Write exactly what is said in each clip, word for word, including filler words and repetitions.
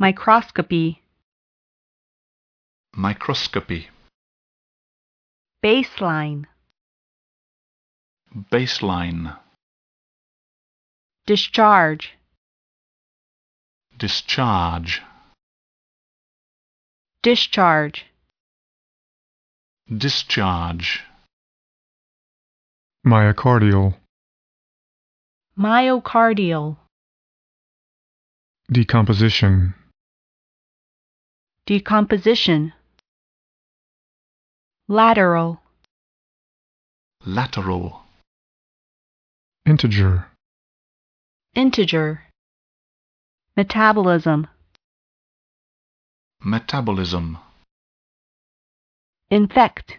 microscopy, microscopy, baseline, baseline, discharge, discharge, discharge, discharge, myocardial, myocardial, decomposition, decomposition, lateral, lateral, integer, integer, metabolism, metabolism, infect,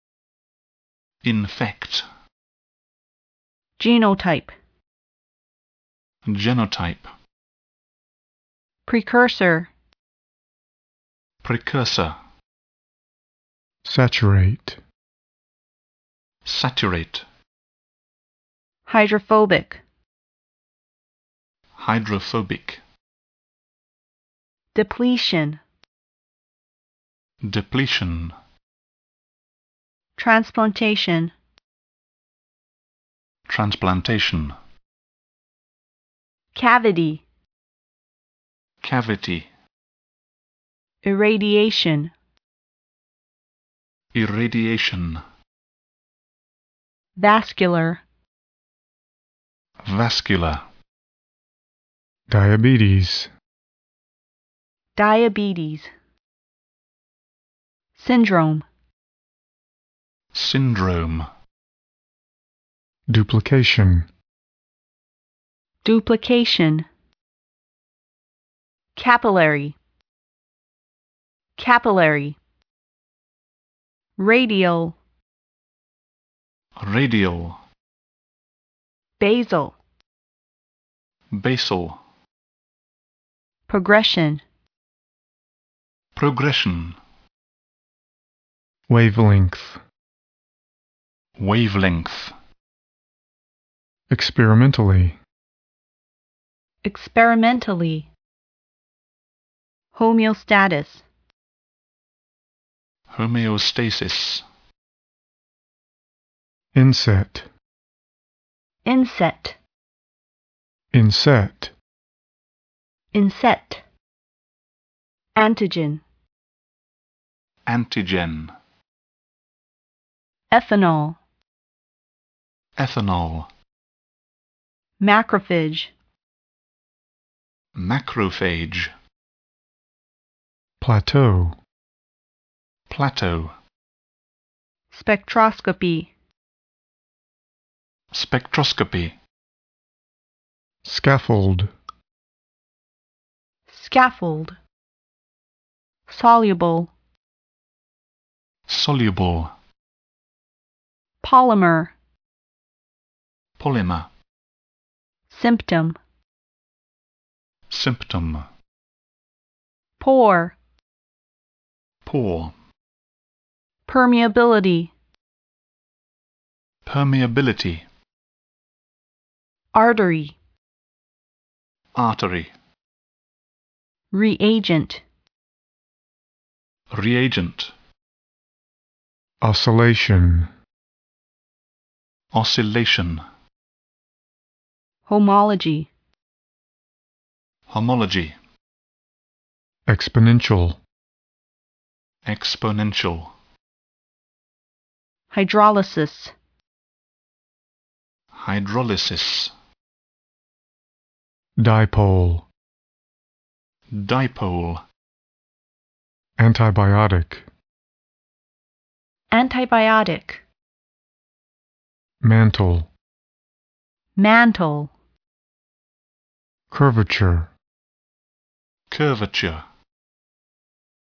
infect, genotype, genotype, precursor, precursor, saturate, saturate, hydrophobic, hydrophobic, depletion, depletion, transplantation, transplantation, cavity, cavity, irradiation, irradiation, vascular, vascular, diabetes, diabetes, syndrome, syndrome, duplication, duplication, capillary, capillary, radial, radial, basal, basal, progression, progression, wavelength, wavelength, experimentally, experimentally, homeostasis, homeostasis, inset, inset, inset, inset, antigen, antigen, ethanol, ethanol, macrophage, macrophage, plateau, plateau, spectroscopy, spectroscopy, scaffold, scaffold, soluble, soluble, polymer, polymer, symptom, symptom, pore, pore, permeability, permeability, artery, artery, reagent, reagent, oscillation, oscillation, homology, homology, exponential, exponential, hydrolysis, hydrolysis, dipole, dipole, antibiotic, antibiotic, mantle, mantle, curvature, curvature,